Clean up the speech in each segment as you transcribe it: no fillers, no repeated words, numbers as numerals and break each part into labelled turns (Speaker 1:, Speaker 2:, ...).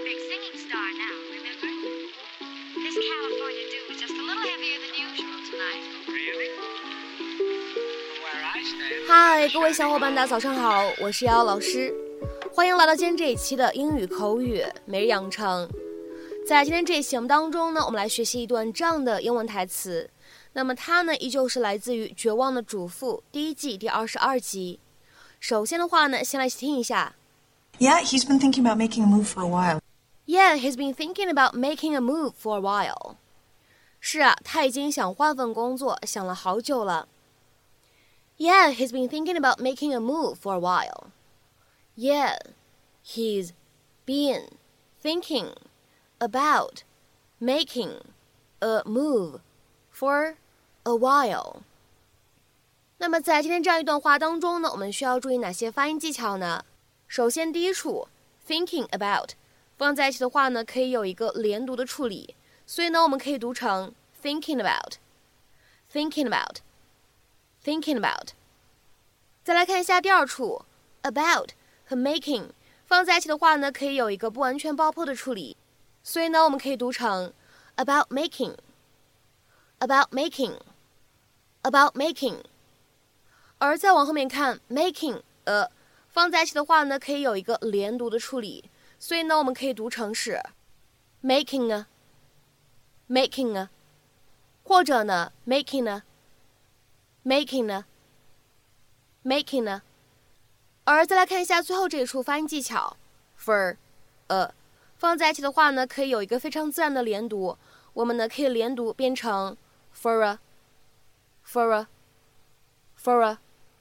Speaker 1: big singing star now, remember? This California dew was just a little heavier than usual tonight.
Speaker 2: Really? From where I stand.
Speaker 3: 嗨，各位小伙伴，大家早上好，我是瑶瑶老师，欢迎来到今天这一期的英语口语每日养成。在今天这一期节目当中呢，我们来学习一段这样的英文台词。那么它呢，依旧是来自于《绝望的主妇》第1季第22集。首先的话呢，先来一起听一下。
Speaker 4: Yeah, he's been thinking about making a move for a while.
Speaker 3: Yeah, he's been thinking about making a move for a while. 是啊，他已经想换份工作，想了好久了。Yeah, he's been thinking about making a move for a while. Yeah, he's been thinking about making a move for a while. 那么在今天这样一段话当中呢，我们需要注意哪些发音技巧呢？首先第一处 thinking about 放在一起的话呢，可以有一个连读的处理，所以呢我们可以读成 thinking about thinking about thinking about。 再来看一下第二处 about 和 making 放在一起的话呢，可以有一个不完全爆破的处理，所以呢我们可以读成 about making about making about making。 而再往后面看 making 放在一起的话呢，可以有一个连读的处理，所以呢我们可以读成是 making 啊 making 啊，或者呢 making 啊 making 啊 making 啊。而再来看一下最后这一处发音技巧 for 放在一起的话呢，可以有一个非常自然的连读，我们呢可以连读变成 for a for a for a。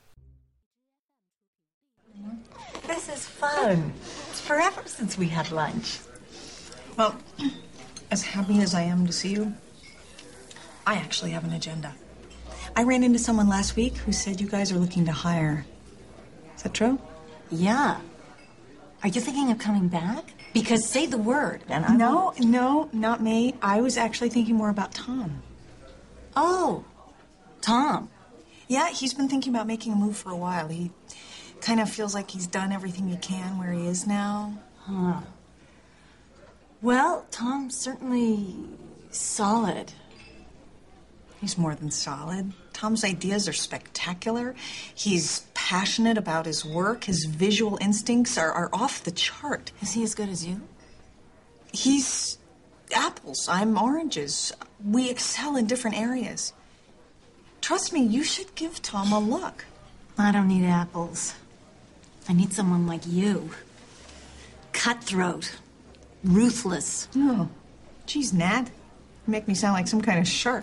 Speaker 4: This is fun. It's forever since we had lunch. Well, as happy as I am to see you, I actually have an agenda. I ran into someone last week who said you guys are looking to hire. Is that true?
Speaker 5: Yeah. Are you thinking of coming back? Because say the word and I
Speaker 4: No, not me. I was actually thinking more about Tom.
Speaker 5: Oh, Tom.
Speaker 4: Yeah, he's been thinking about making a move for a while. He kind of feels like he's done everything he can where he is now.
Speaker 5: Huh. Well, Tom's certainly solid.
Speaker 4: He's more than solid. Tom's ideas are spectacular. He's passionate about his work. His visual instincts are off the chart.
Speaker 5: Is he as good as you?
Speaker 4: He's apples. I'm oranges. We excel in different areas. Trust me, you should give Tom a look.
Speaker 5: I don't need apples. I need someone like you. Cutthroat. Ruthless.
Speaker 4: Oh, geez, Nat. You make me sound like some kind of shark.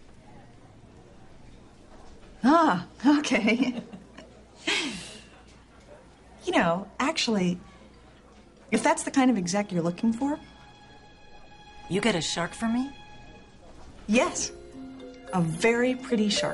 Speaker 4: Ah, okay. You know, actually, if that's the kind of exec you're looking for,
Speaker 5: You get a shark for me?
Speaker 4: yes, a very pretty shark.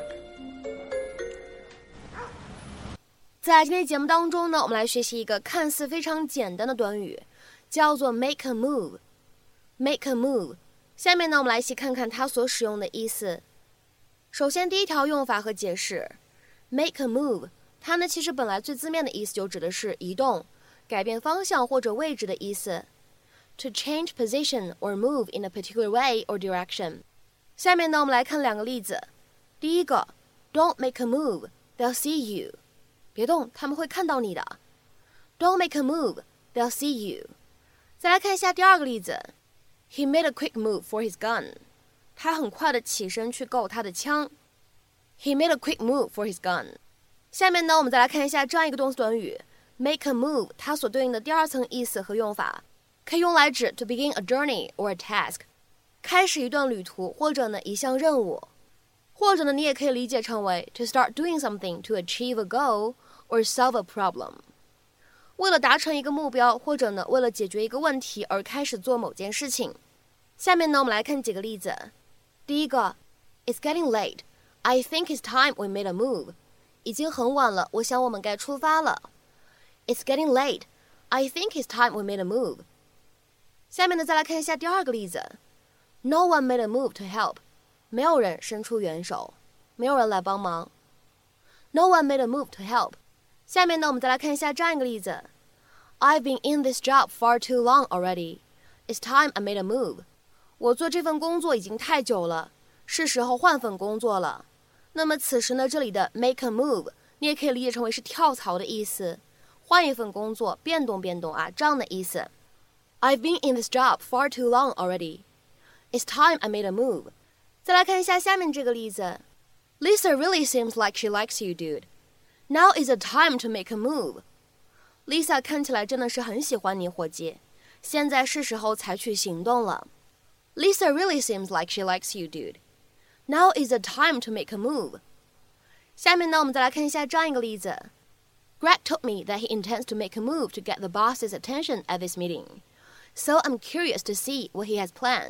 Speaker 3: 在今天节目当中呢，我们来学习一个看似非常简单的短语，叫做 make a move make a move。 下面呢我们来一起看看它所使用的意思。首先第一条用法和解释， make a move 它呢其实本来最字面的意思就指的是移动、改变方向或者位置的意思， to change position or move in a particular way or direction。 下面呢我们来看两个例子。第一个 Don't make a move, they'll see you。 别动，他们会看到你的。 Don't make a move, they'll see you。 再来看一下第二个例子， He made a quick move for his gun。 他很快的起身去够他的枪。 He made a quick move for his gun。 下面呢我们再来看一下这样一个动词短语 make a move， 它所对应的第二层意思和用法，可以用来指 to begin a journey or a task， 开始一段旅途或者呢一项任务，或者呢你也可以理解成为 to start doing something to achieve a goal or solve a problem， 为了达成一个目标或者呢为了解决一个问题而开始做某件事情。下面呢我们来看几个例子。第一个 It's getting late, I think it's time we made a move。 已经很晚了，我想我们该出发了。 It's getting late, I think it's time we made a move。 下面呢再来看一下第二个例子， No one made a move to help。 没有人伸出援手，没有人来帮忙。 No one made a move to help。 下面呢我们再来看一下这样一个例子， I've been in this job far too long already. It's time I made a move. 我做这份工作已经太久了，是时候换份工作了。那么此时呢，这里的 make a move 你也可以理解成为是跳槽的意思，换一份工作，变动变动啊，这样的意思。I've been in this job far too long already. It's time I made a move. 再来看一下下面这个例子。Lisa really seems like she likes you, dude. Now is the time to make a move. Lisa 看起来真的是很喜欢你，伙计。现在是时候采取行动了。Lisa really seems like she likes you, dude. Now is the time to make a move. 下面呢，我们再来看一下这样一个例子。Greg told me that he intends to make a move to get the boss's attention at this meeting. So I'm curious to see what he has planned.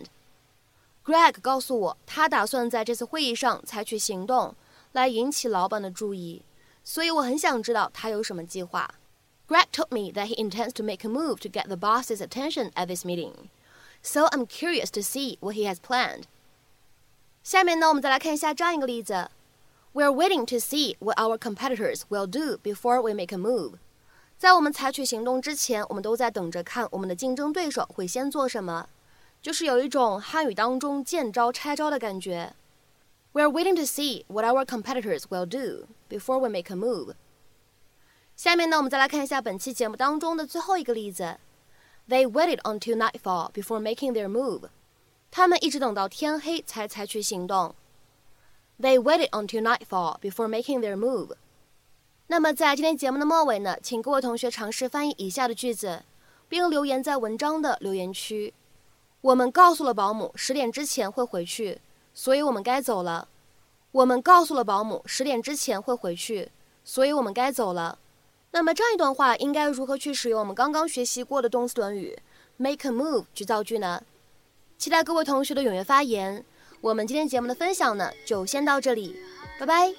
Speaker 3: Greg 告诉我，他打算在这次会议上采取行动，来引起老板的注意。所以我很想知道他有什么计划。Greg told me that he intends to make a move to get the boss's attention at this meeting. So I'm curious to see what he has planned. 下面呢，我们再来看一下这样一个例子。We're waiting to see what our competitors will do before we make a move. 在我们采取行动之前，我们都在等着看我们的竞争对手会先做什么，就是有一种汉语当中见招拆招的感觉。We're waiting to see what our competitors will do before we make a move. 下面呢，我们再来看一下本期节目当中的最后一个例子。They waited until nightfall before making their move. 他们一直等到天黑才采取行动。They waited until nightfall before making their move. 那么在今天节目的末尾呢，请各位同学尝试翻译以下的句子，并留言在文章的留言区。我们告诉了保姆10点之前会回去，所以我们该走了。我们告诉了保姆10点之前会回去，所以我们该走了。那么这样一段话应该如何去使用我们刚刚学习过的动词短语 make a move 去造句呢？期待各位同学的踊跃发言。我们今天节目的分享呢，就先到这里，拜拜。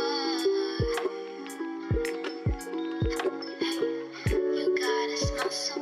Speaker 1: You gotta smell so